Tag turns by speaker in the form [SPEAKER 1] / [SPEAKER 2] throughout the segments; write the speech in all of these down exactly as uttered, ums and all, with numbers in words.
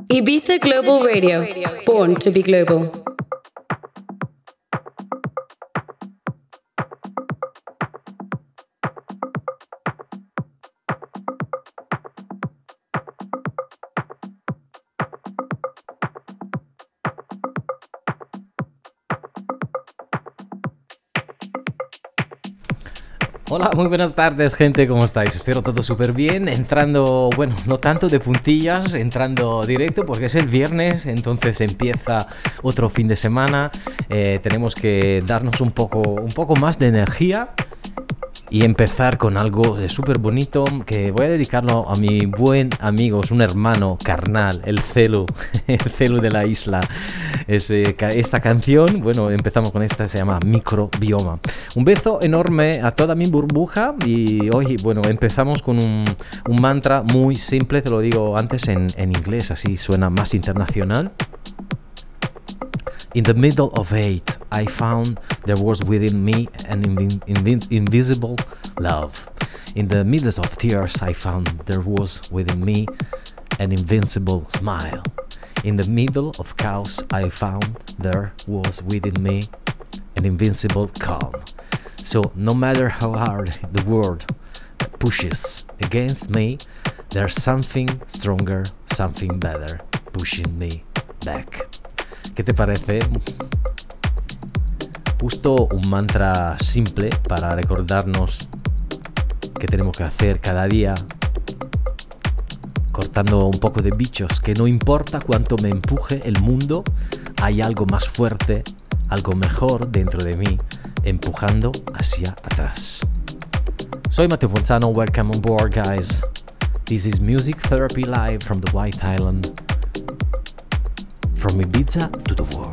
[SPEAKER 1] Ibiza Global Radio, born to be global.
[SPEAKER 2] Hola, muy buenas tardes, gente, ¿cómo estáis? Espero todo súper bien, entrando, bueno, no tanto de puntillas, entrando directo porque es el viernes, entonces empieza otro fin de semana, eh, tenemos que darnos un poco, un poco más de energía y empezar con algo súper bonito que voy a dedicarlo a mi buen amigo, es un hermano carnal, el Celu, el Celu de la isla. Es, eh, esta canción, bueno, empezamos con esta, se llama Microbioma. Un beso enorme a toda mi burbuja y hoy, bueno, empezamos con un, un mantra muy simple, te lo digo antes en, en inglés, así suena más internacional. In the middle of hate, I found there was within me an invi- invi- invisible love. In the midst of tears, I found there was within me an invincible smile. In the middle of chaos, I found there was within me an invincible calm. So no matter how hard the world pushes against me, there's something stronger, something better pushing me back. ¿Qué te parece? Justo un mantra simple para recordarnos que tenemos que hacer cada día, cortando un poco de bichos, que no importa cuánto me empuje el mundo, hay algo más fuerte, algo mejor dentro de mí, empujando hacia atrás. Soy Matteo Ponzano, welcome on board, guys. This is Music Therapy Live from the White Island. From Ibiza to the world.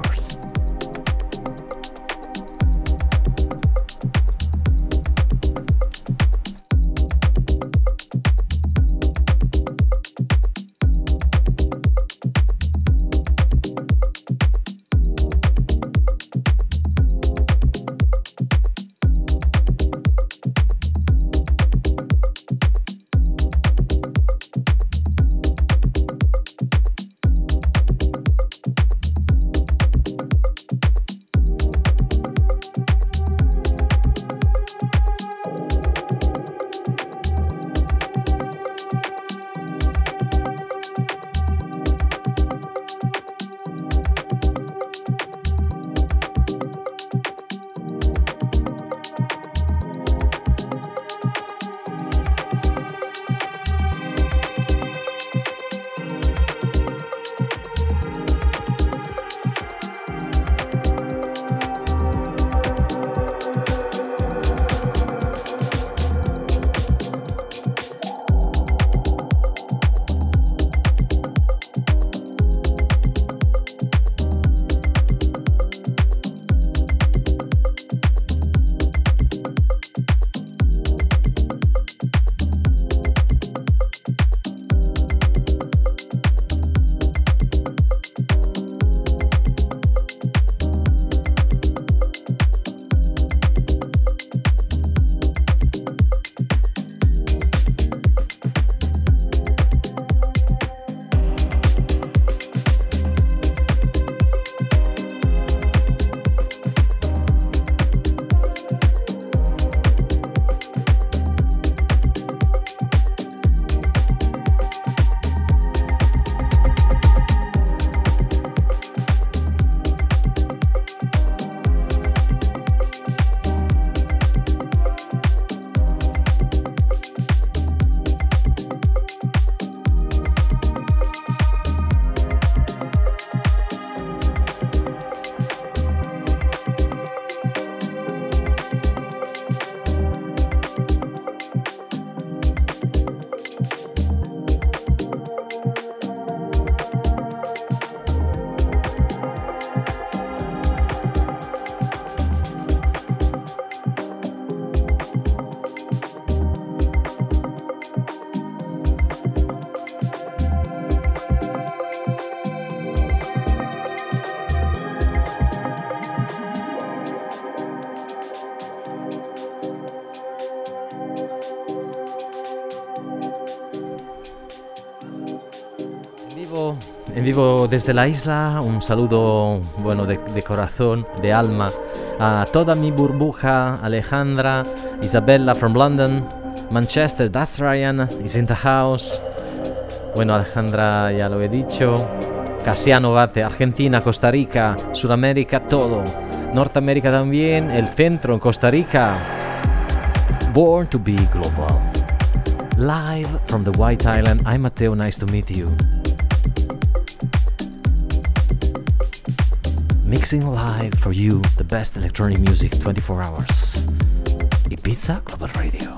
[SPEAKER 2] vivo, en vivo desde la isla, un saludo, bueno, de, de corazón, de alma, a toda mi burbuja, Alejandra, Isabella from London, Manchester, that's Ryan, is in the house. Bueno, Alejandra ya lo he dicho. Casiano Bate, Argentina, Costa Rica, Sudamérica, todo. Norteamérica también, el centro en Costa Rica. Born to be global. Live from the White Island, I'm Matteo, nice to meet you. Mixing live for you the best electronic music twenty-four hours. Ibiza Global Radio.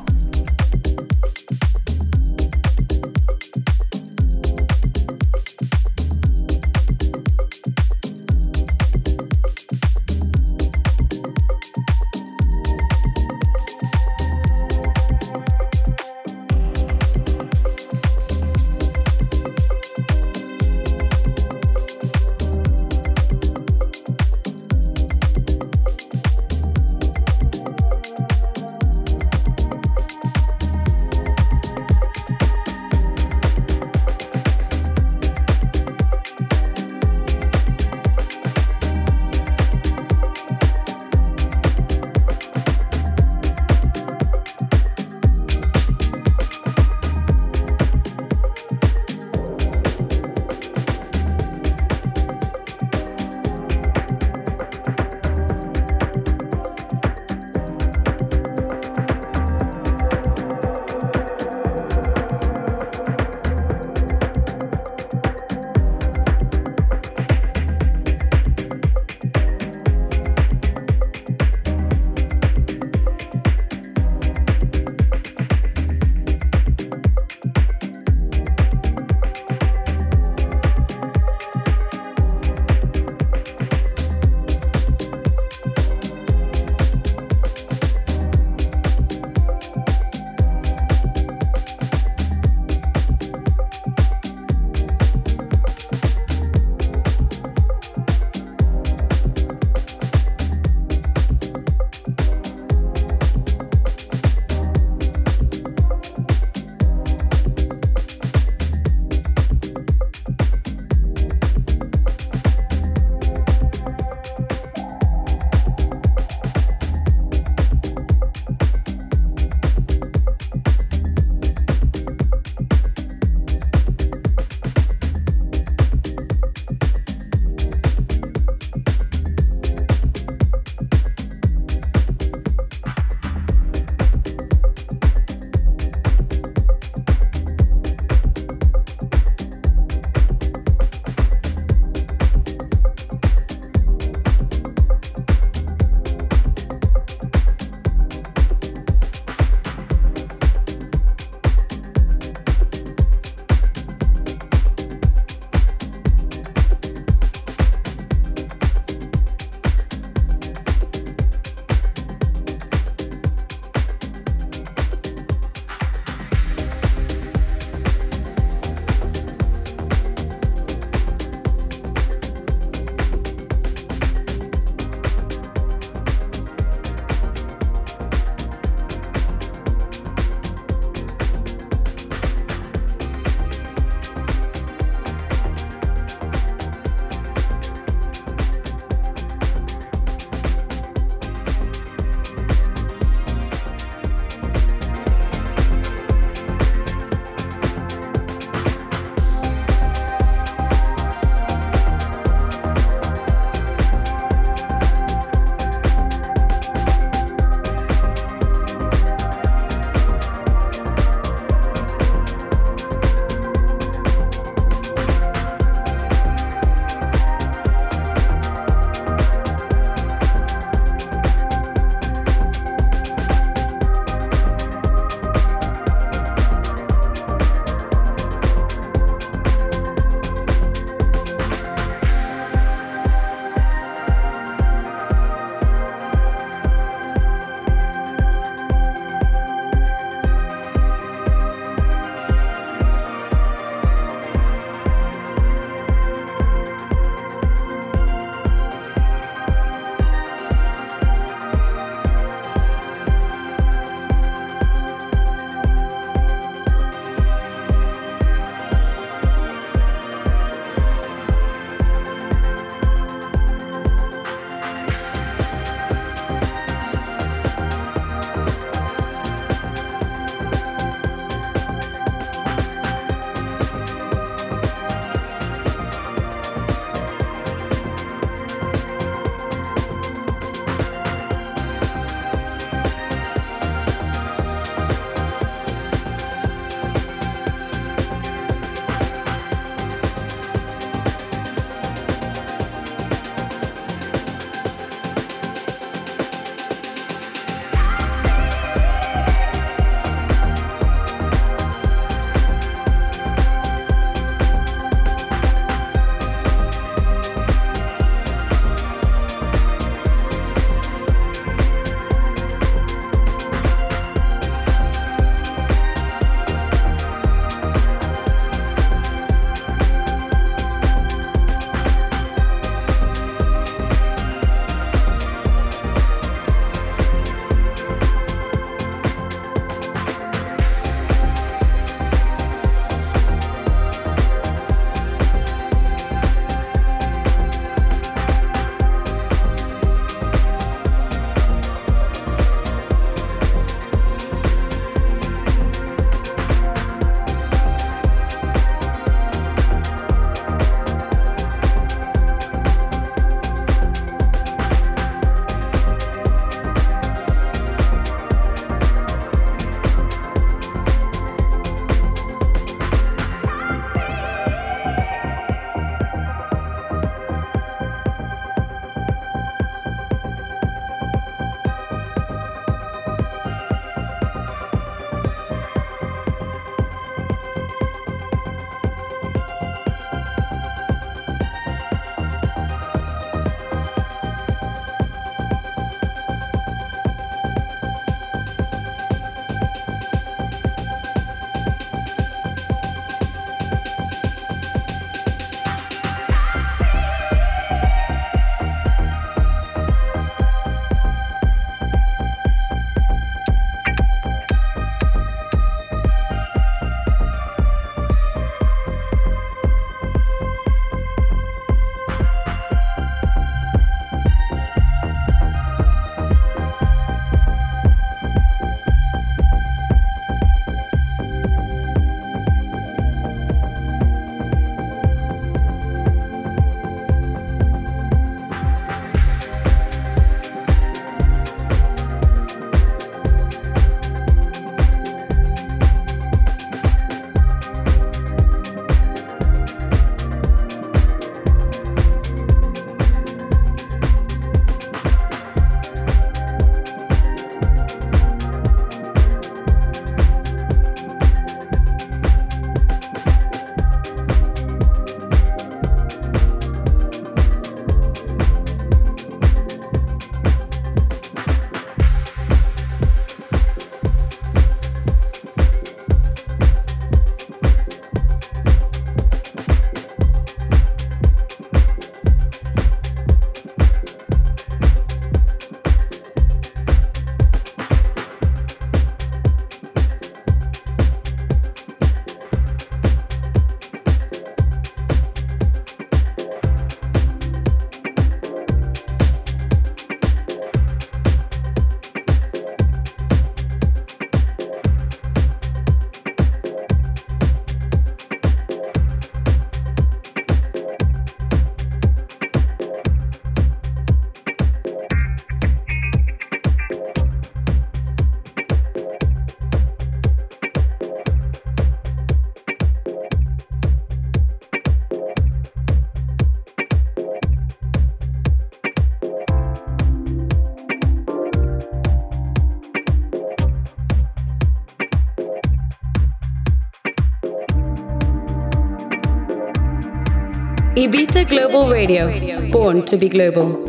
[SPEAKER 1] Ibiza Global Radio, born to be global.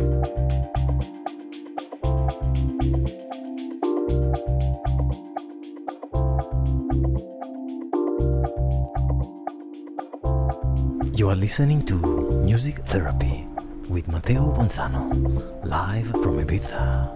[SPEAKER 2] You are listening to Music Therapy with Matteo Bonzano, live from Ibiza.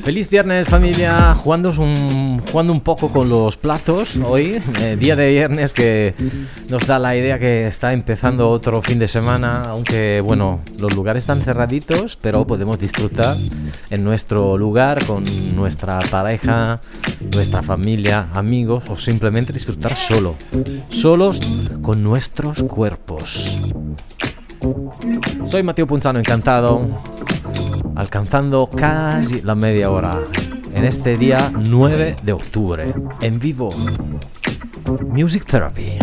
[SPEAKER 2] Feliz viernes, familia, jugando un, jugando un poco con los plazos hoy, eh, día de viernes que nos da la idea que está empezando otro fin de semana, aunque bueno, los lugares están cerraditos, pero podemos disfrutar en nuestro lugar con nuestra pareja, nuestra familia, amigos o simplemente disfrutar solo, solos con nuestros cuerpos. Soy Matteo Punzano, encantado, alcanzando casi la media hora en este día nueve de octubre, en vivo, Music Therapy.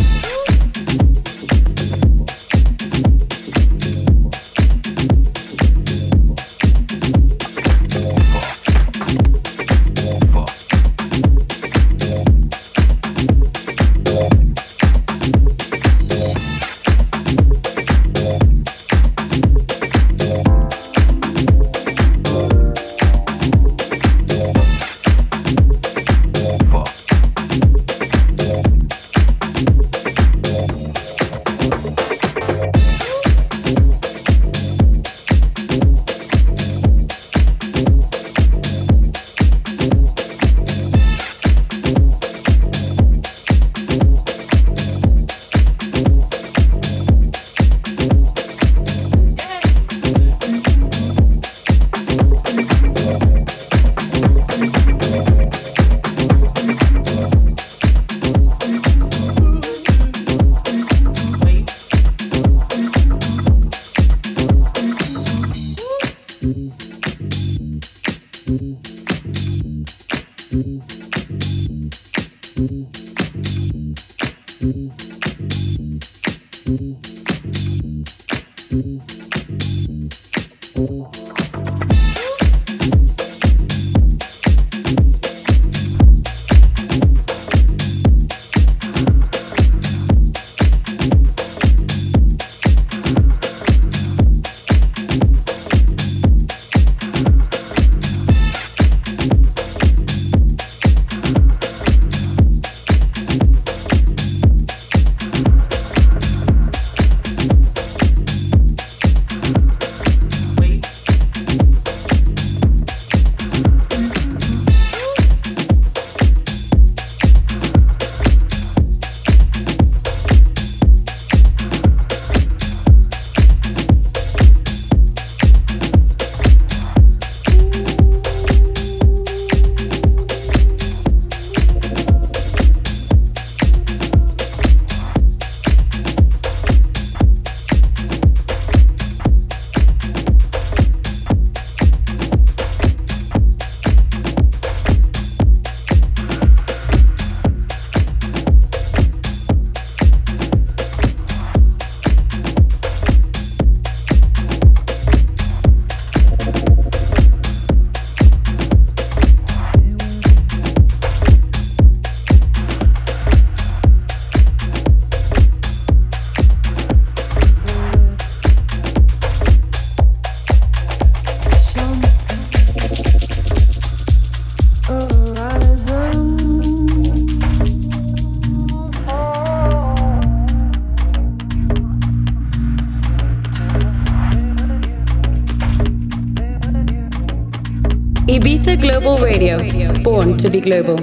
[SPEAKER 1] Ibiza Global Radio, born to be global.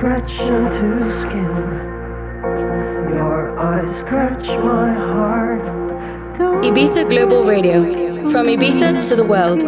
[SPEAKER 3] scratch into skin. Your eyes scratch my heart.
[SPEAKER 1] Ibiza Global Radio. From Ibiza to the world.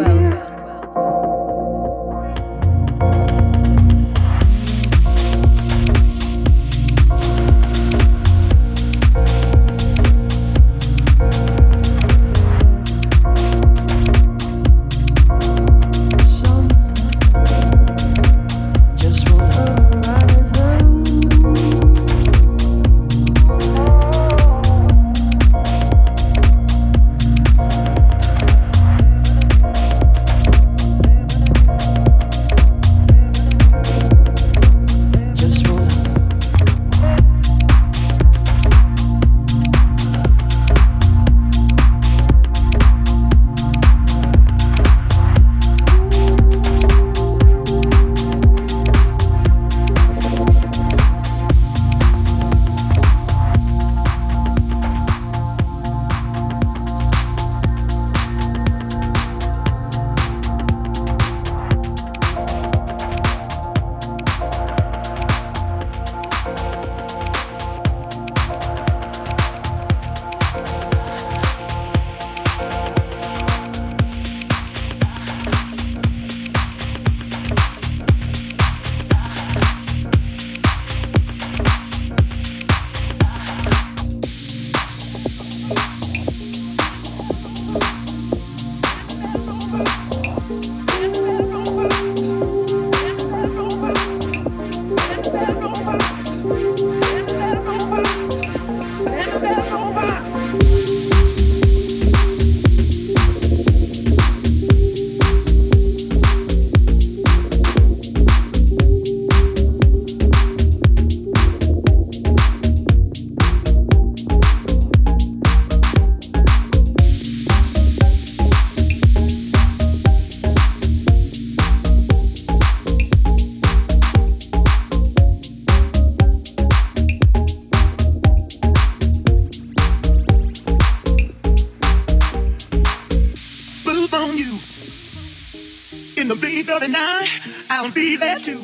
[SPEAKER 4] I'll be there too.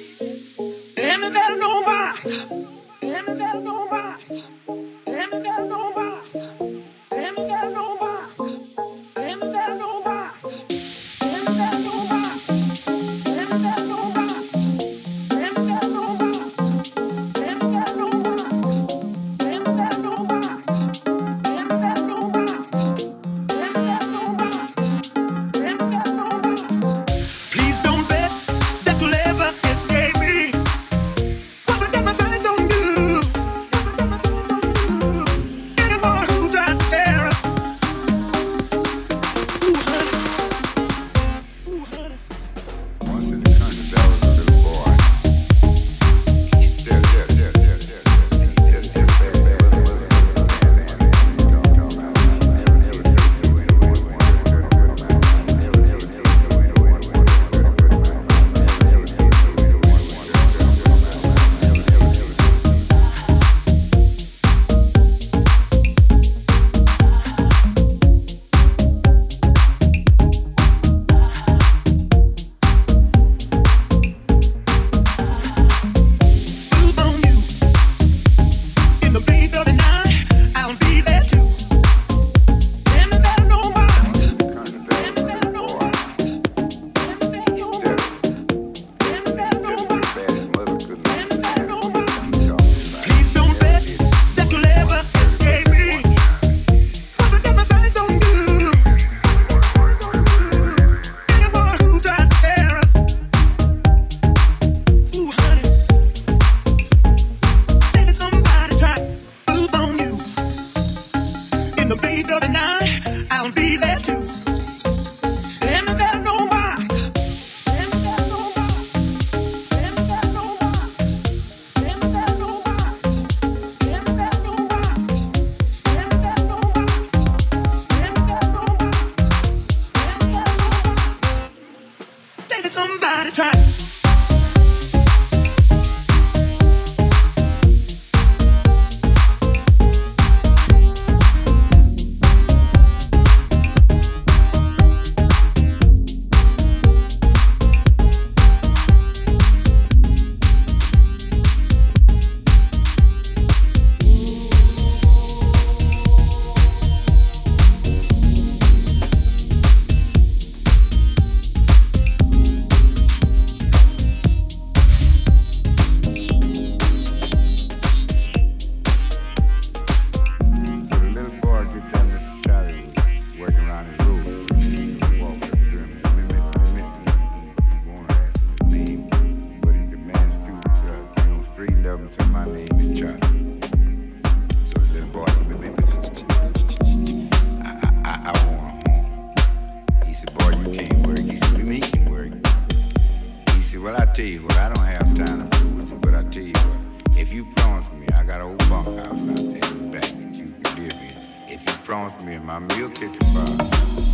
[SPEAKER 4] And there's no more. And there's no more. And there's no more. And there's no more. And there's no more. And there's no more. And there's no more. And there's no more. And there's no more. And there's no more. And there's no more. And there's no more. And there's no more. Please don't bet that you'll ever escape me. Cause I got my sights on you. Cause I got my sights on you. Anyone who tries to
[SPEAKER 5] promised me in my meal kitchen fire.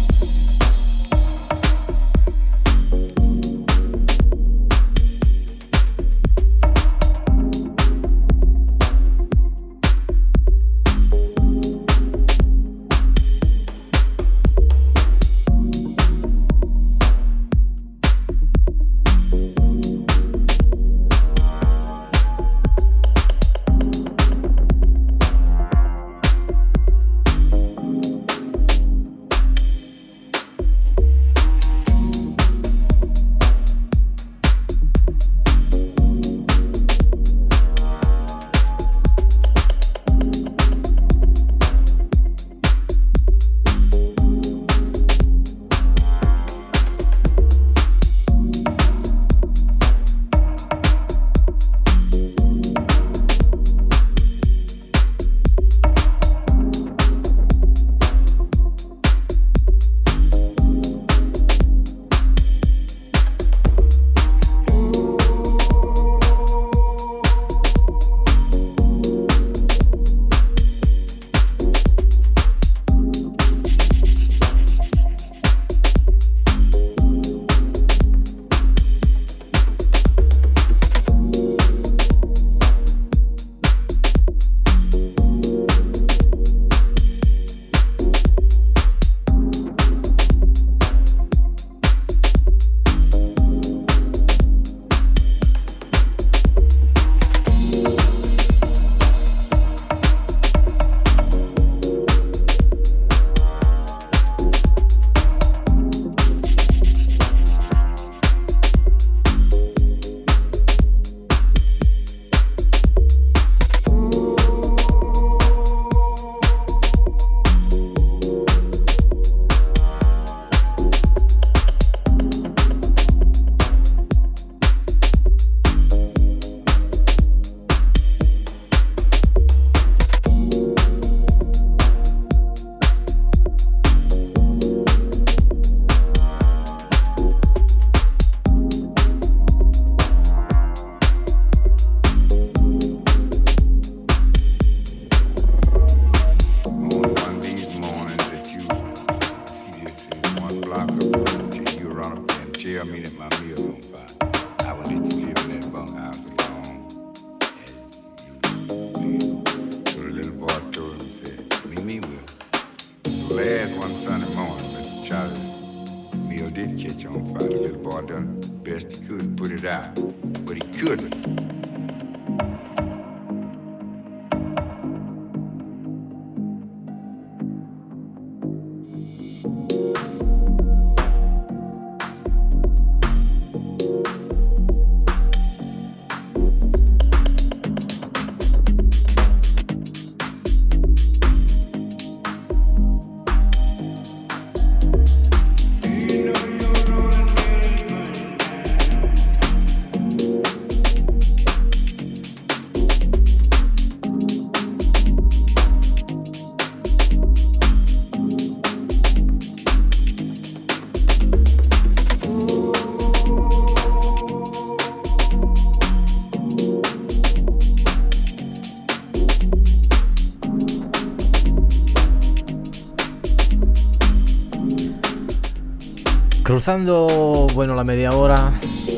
[SPEAKER 2] Cruzando, bueno, la media hora,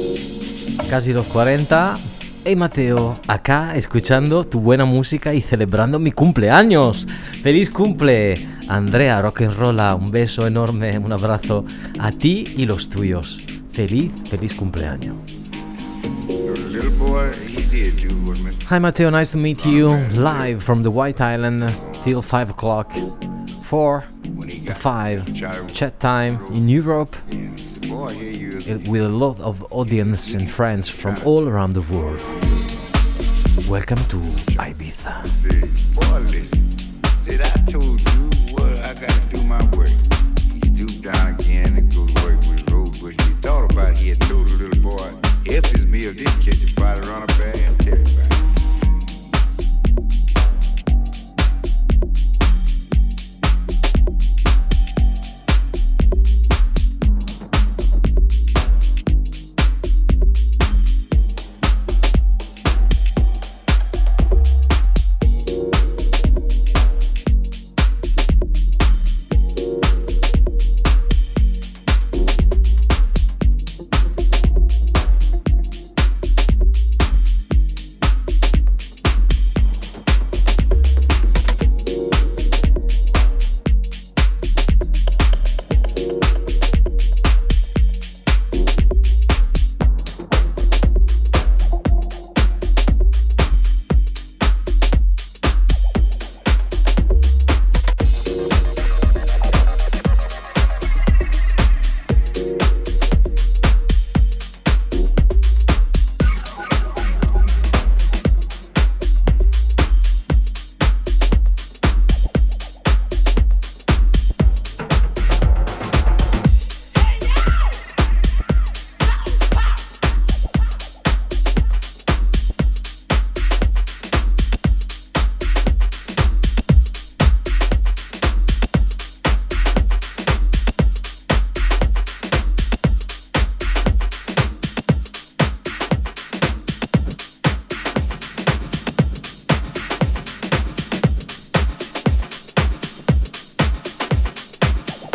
[SPEAKER 2] casi los cuarenta. Hey Mateo, acá escuchando tu buena música y celebrando mi cumpleaños. ¡Feliz cumple! Andrea Rock and Rolla, un beso enorme, un abrazo a ti y los tuyos. Feliz, feliz cumpleaños. Hi Mateo, nice to meet you live from the White Island till five o'clock. four to five chat time in Europe with a lot of audience and friends from all around the world. Welcome to Ibiza.
[SPEAKER 5] Said I told you what I gotta do my work. He stooped down again and go to work with a road bush. He thought about it, he had told the little boy if his meal did catch a fire, run a bag and tell him about it.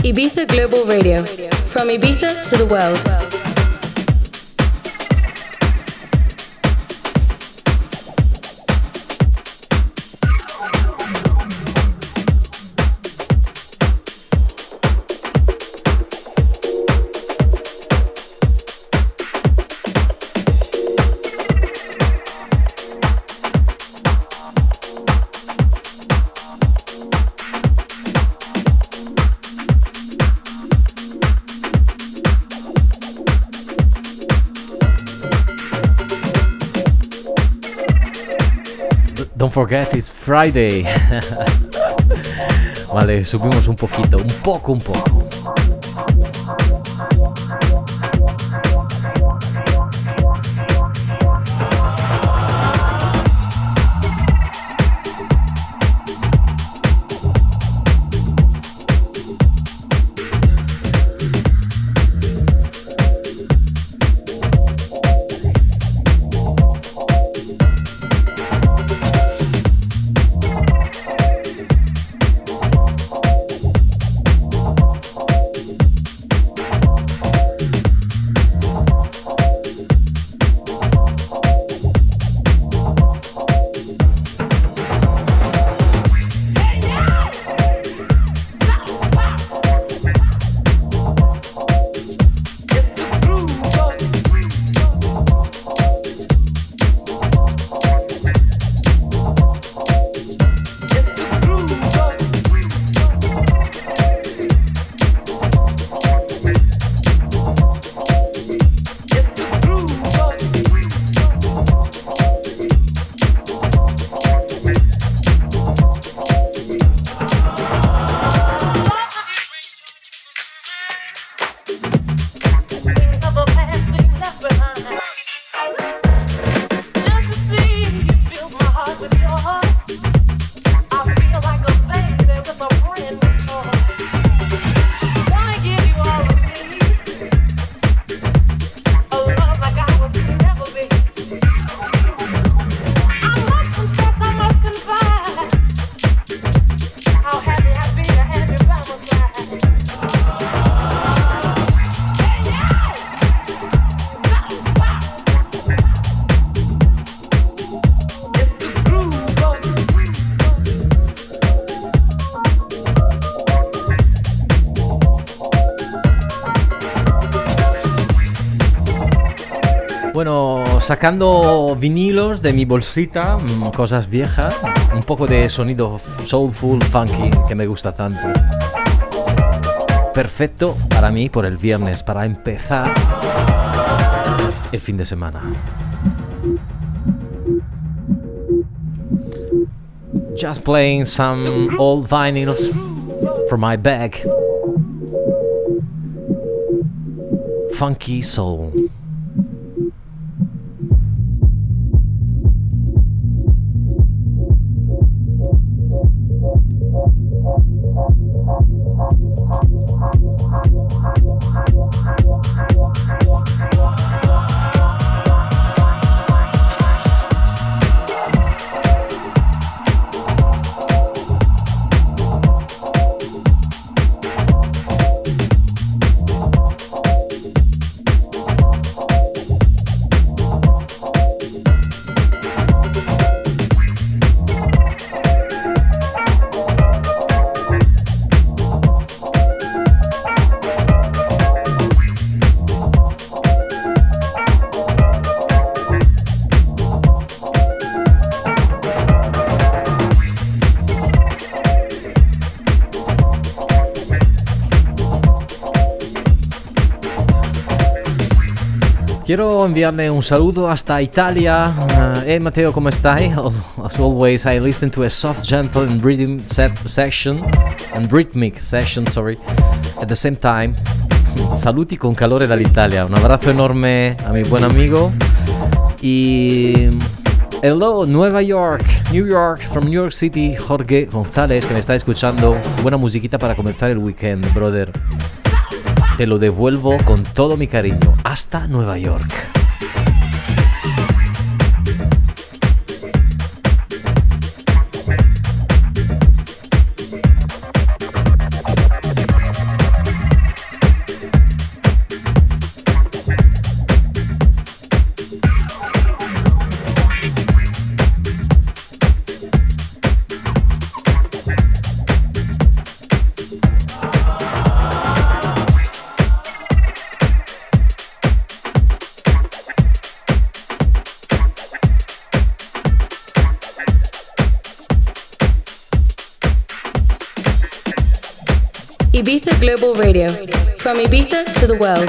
[SPEAKER 1] Ibiza Global Radio, from Ibiza to the world.
[SPEAKER 2] Don't forget, it's Friday. Vale, subimos un poquito, un poco, un poco. Bueno, sacando vinilos de mi bolsita, cosas viejas, un poco de sonido soulful, funky, que me gusta tanto. Perfecto para mí por el viernes, para empezar el fin de semana. Just playing some old vinyls from my bag. Funky soul. Quiero enviarle un saludo hasta Italia. Uh, hey Matteo, ¿cómo stai? As always, I listen to a soft, gentle and rhythm set section and rhythmic session, sorry, at the same time. Saluti con calore dall'Italia. Un abrazo enorme a mi buen amigo. Y hello, Nueva York, New York, from New York City, Jorge González, que me está escuchando. Buena musiquita para comenzar el weekend, brother. Te lo devuelvo con todo mi cariño. Hasta Nueva York.
[SPEAKER 1] Ibiza Global Radio, from Ibiza to the world.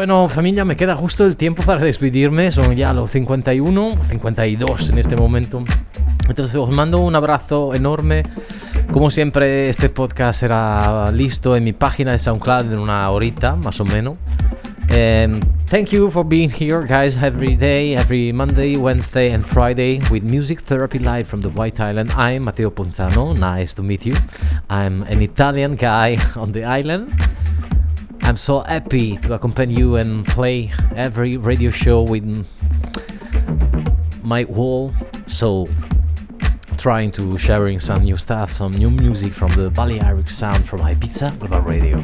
[SPEAKER 2] Bueno, familia, me queda justo el tiempo para despedirme. Son ya los cincuenta y uno, cincuenta y dos en este momento. Entonces os mando un abrazo enorme. Como siempre, este podcast será listo en mi página de SoundCloud en una horita, más o menos. Um, thank you for being here, guys, every day, every Monday, Wednesday and Friday with Music Therapy Live from the White Island. I'm Matteo Ponzano. Nice to meet you. I'm an Italian guy on the island. I'm so happy to accompany you and play every radio show with my whole soul, trying to sharing some new stuff, some new music from the Balearic sound from Ibiza Global Radio.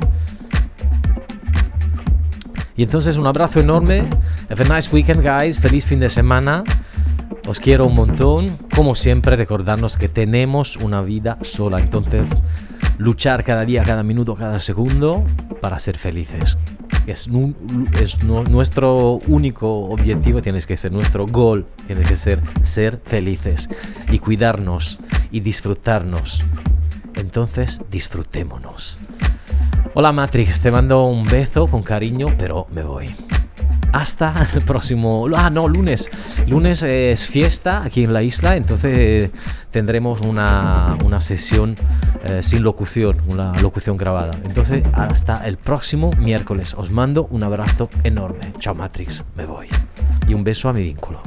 [SPEAKER 2] Y entonces un abrazo enorme. Have a nice weekend, guys. Feliz fin de semana. Os quiero un montón. Como siempre, recordarnos que tenemos una vida sola. Entonces, luchar cada día, cada minuto, cada segundo para ser felices. Es, nu- es nu- nuestro único objetivo, tiene que ser nuestro goal, tiene que ser ser felices y cuidarnos y disfrutarnos. Entonces, disfrutémonos. Hola Matrix, te mando un beso con cariño, pero me voy. Hasta el próximo... Ah, no, lunes. Lunes es fiesta aquí en la isla, entonces tendremos una, una sesión eh, sin locución, una locución grabada. Entonces, hasta el próximo miércoles. Os mando un abrazo enorme. Chao Matrix, me voy. Y un beso a mi vínculo.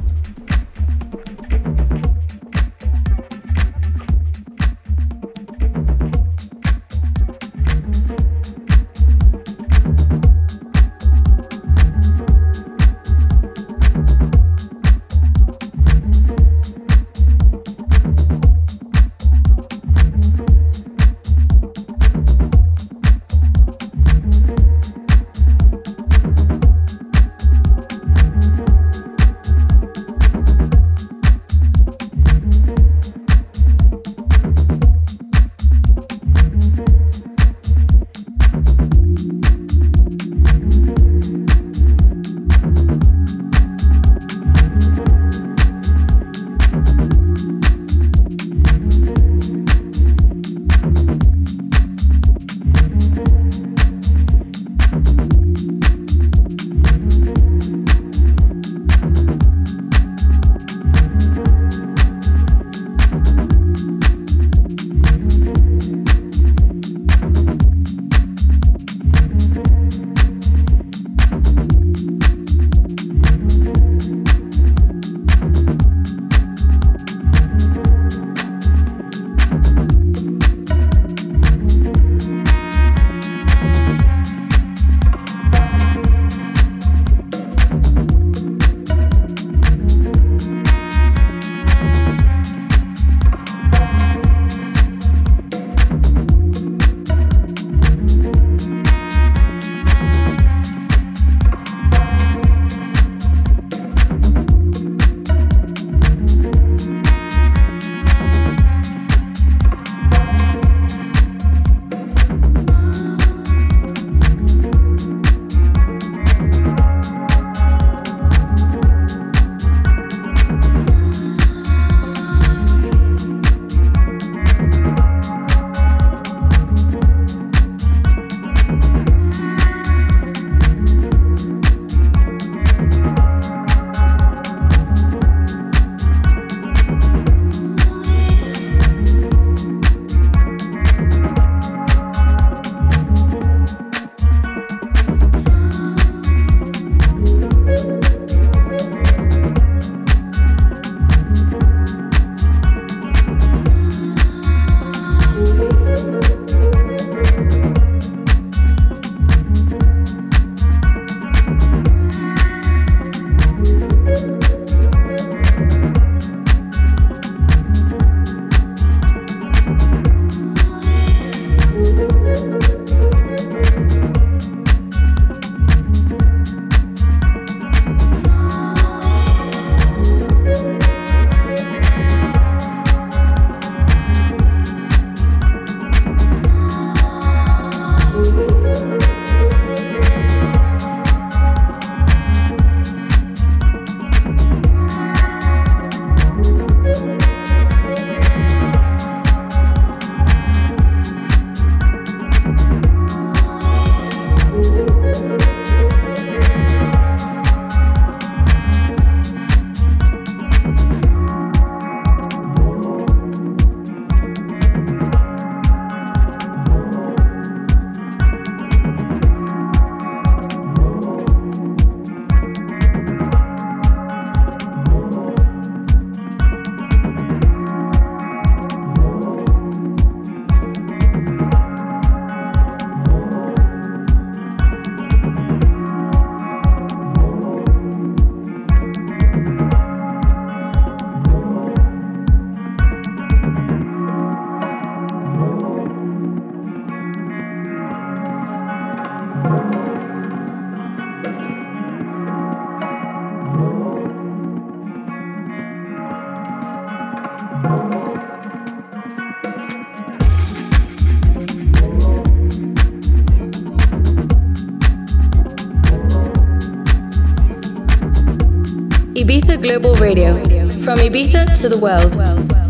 [SPEAKER 1] Ibiza Global Radio, from Ibiza to the world.